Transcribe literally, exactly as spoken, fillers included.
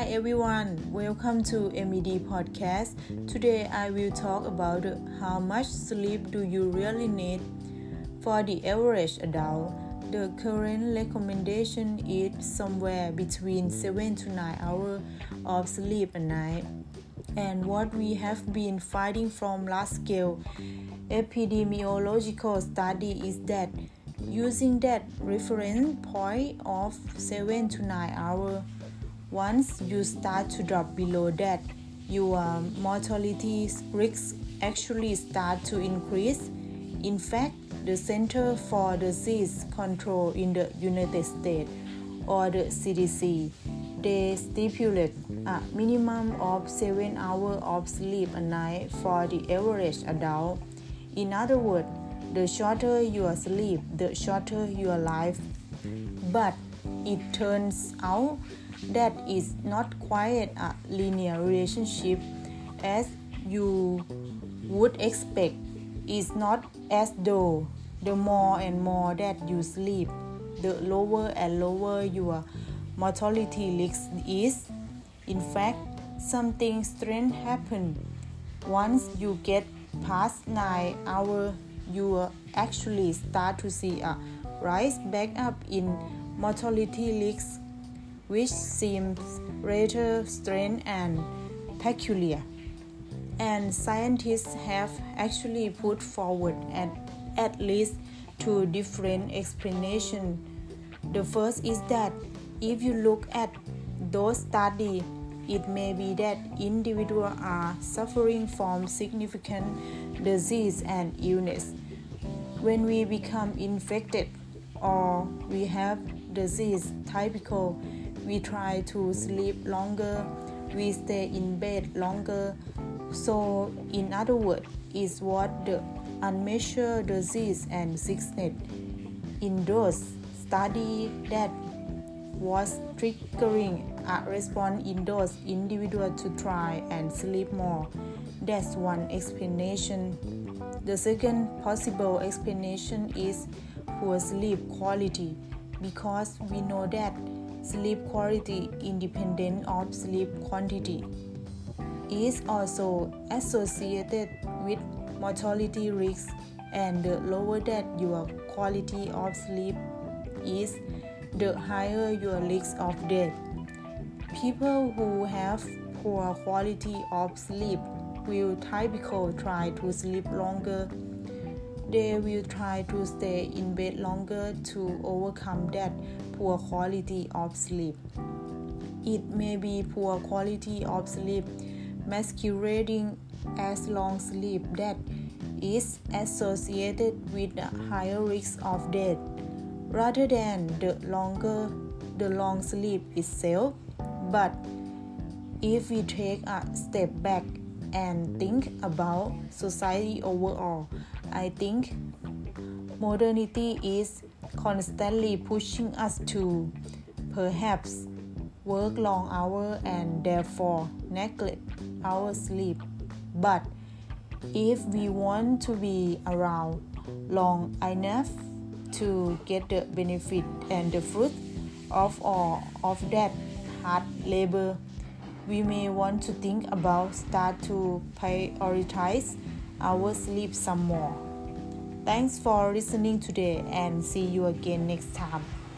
everyone, welcome to M E D Podcast. Today I will talk about how much sleep do you really need. For the average adult, the current recommendation is somewhere between seven to nine hours of sleep a night. And what we have been finding from large-scale epidemiological study is that using that reference point of seven to nine hours, once you start to drop below that, your mortality risks actually start to increase. In fact, the Center for Disease Control in the United States, or the C D C, they stipulate a minimum of seven hours of sleep a night for the average adult. In other words, the shorter your sleep, the shorter your life. But it turns out that is not quite a linear relationship as you would expect. It's not as though the more and more that you sleep, the lower and lower your mortality risk is. In fact, something strange happens. Once you get past nine hours, you actually start to see a rise back up in mortality risk, which seems rather strange and peculiar. And scientists have actually put forward at, at least two different explanations. The first is that if you look at those studies, it may be that individuals are suffering from significant disease and illness. When we become infected or we have disease typical, we try to sleep longer, we stay in bed longer. So, in other words, is what the unmeasured disease and sickness in those studies that was triggering a response in those individuals to try and sleep more. That's one explanation. The second possible explanation is poor sleep quality, because we know that sleep quality independent of sleep quantity is also associated with mortality risk, and the lower that your quality of sleep is, the higher your risk of death. People who have poor quality of sleep will typically try to sleep longer. They will try to stay in bed longer to overcome that poor quality of sleep. It may be poor quality of sleep masquerading as long sleep that is associated with a higher risk of death, rather than the longer the long sleep itself. But if we take a step back and think about society overall, I think modernity is constantly pushing us to perhaps work long hours and therefore neglect our sleep. But if we want to be around long enough to get the benefit and the fruit of all of that hard labor, we may want to think about start to prioritize our sleep some more. Thanks for listening today and see you again next time.